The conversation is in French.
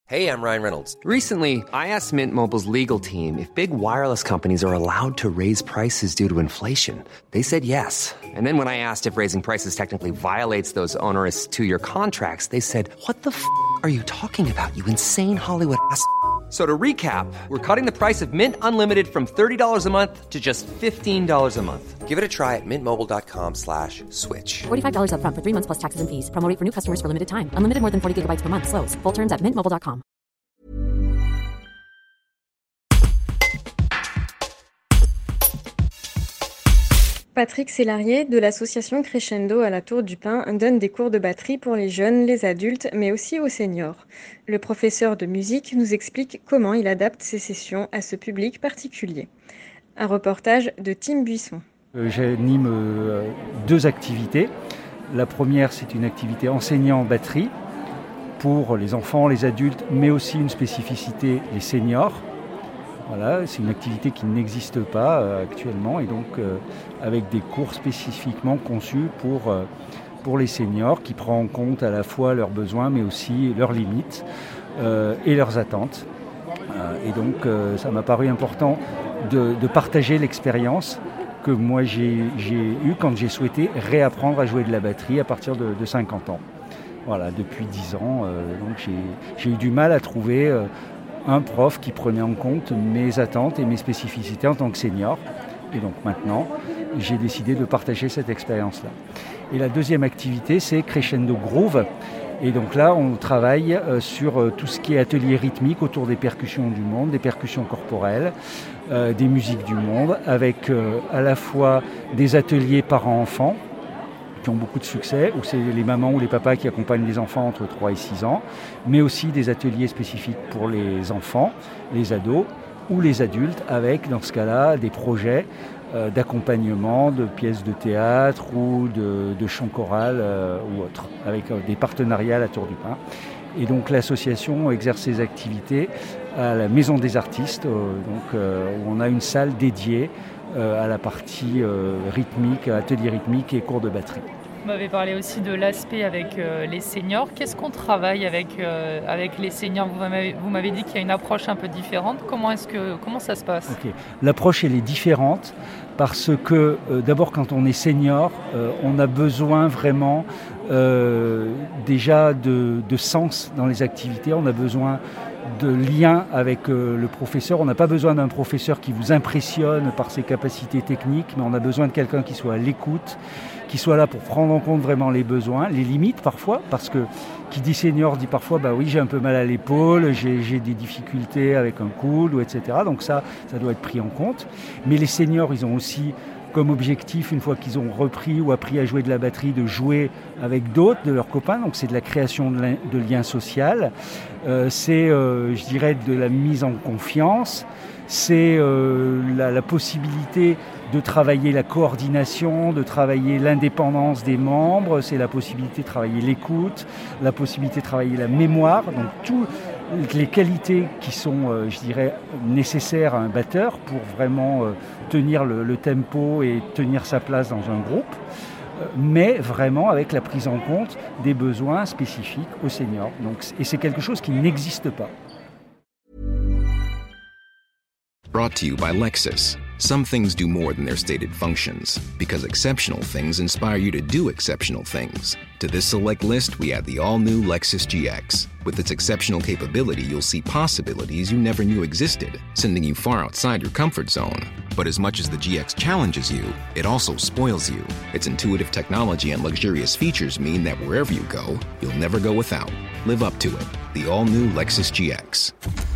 Hey, I'm Ryan Reynolds. Recently, I asked Mint Mobile's legal team if big wireless companies are allowed to raise prices due to inflation. They said yes. And then when I asked if raising prices technically violates those onerous two-year contracts, they said, "What the f*** are you talking about, you insane Hollywood ass?" So to recap, we're cutting the price of Mint Unlimited from $30 a month to just $15 a month. Give it a try at mintmobile.com/switch. $45 up front for 3 months plus taxes and fees. Promo rate for new customers for limited time. Unlimited more than 40 gigabytes per month. Slows full terms at mintmobile.com. Patrick Sellarié de l'association Crescendo à la Tour du Pin donne des cours de batterie pour les jeunes, les adultes, mais aussi aux seniors. Le professeur de musique nous explique comment il adapte ses sessions à ce public particulier. Un reportage de Tim Buisson. J'anime 2 activités. La première, c'est une activité enseignant batterie pour les enfants, les adultes, mais aussi une spécificité, les seniors. Voilà, c'est une activité qui n'existe pas actuellement et donc avec des cours spécifiquement conçus pour les seniors qui prend en compte à la fois leurs besoins mais aussi leurs limites et leurs attentes. Et donc ça m'a paru important de partager l'expérience que moi j'ai eue quand j'ai souhaité réapprendre à jouer de la batterie à partir de 50 ans. Voilà, depuis 10 ans, donc j'ai eu du mal à trouver un prof qui prenait en compte mes attentes et mes spécificités en tant que senior. Et donc maintenant, j'ai décidé de partager cette expérience-là. Et la deuxième activité, c'est Crescendo Groove. Et donc là, on travaille sur tout ce qui est atelier rythmique autour des percussions du monde, des percussions corporelles, des musiques du monde, avec à la fois des ateliers parents-enfants, qui ont beaucoup de succès, où c'est les mamans ou les papas qui accompagnent les enfants entre 3 et 6 ans, mais aussi des ateliers spécifiques pour les enfants, les ados ou les adultes, avec dans ce cas-là des projets d'accompagnement de pièces de théâtre ou de chant choral ou autres, avec des partenariats à la Tour du Pin. Et donc l'association exerce ses activités à la Maison des Artistes, où on a une salle dédiée à la partie rythmique, atelier rythmique et cours de batterie. Vous m'avez parlé aussi de l'aspect avec les seniors. Qu'est-ce qu'on travaille avec les seniors ? Vous m'avez dit qu'il y a une approche un peu différente. Comment ça se passe ? Okay. L'approche, elle est différente parce que d'abord, quand on est senior, on a besoin vraiment déjà de sens dans les activités. On a besoin de lien avec le professeur. On n'a pas besoin d'un professeur qui vous impressionne par ses capacités techniques, mais on a besoin de quelqu'un qui soit à l'écoute, qui soit là pour prendre en compte vraiment les besoins, les limites parfois, parce que qui dit senior dit parfois bah oui, j'ai un peu mal à l'épaule, j'ai des difficultés avec un coude, ou etc. Donc ça doit être pris en compte. Mais les seniors, ils ont aussi comme objectif, une fois qu'ils ont repris ou appris à jouer de la batterie, de jouer avec d'autres, de leurs copains. Donc c'est de la création de liens sociaux. C'est, je dirais, de la mise en confiance. C'est la possibilité de travailler la coordination, de travailler l'indépendance des membres. C'est la possibilité de travailler l'écoute, la possibilité de travailler la mémoire. Donc toutes les qualités qui sont, je dirais, nécessaires à un batteur pour vraiment tenir le tempo et tenir sa place dans un groupe, mais vraiment avec la prise en compte des besoins spécifiques aux seniors. Donc, et c'est quelque chose qui n'existe pas. Brought to you by Lexus. Some things do more than their stated functions, because exceptional things inspire you to do exceptional things. To this select list, we add the all-new Lexus GX. With its exceptional capability, you'll see possibilities you never knew existed, sending you far outside your comfort zone. But as much as the GX challenges you, it also spoils you. Its intuitive technology and luxurious features mean that wherever you go, you'll never go without. Live up to it. The all-new Lexus GX.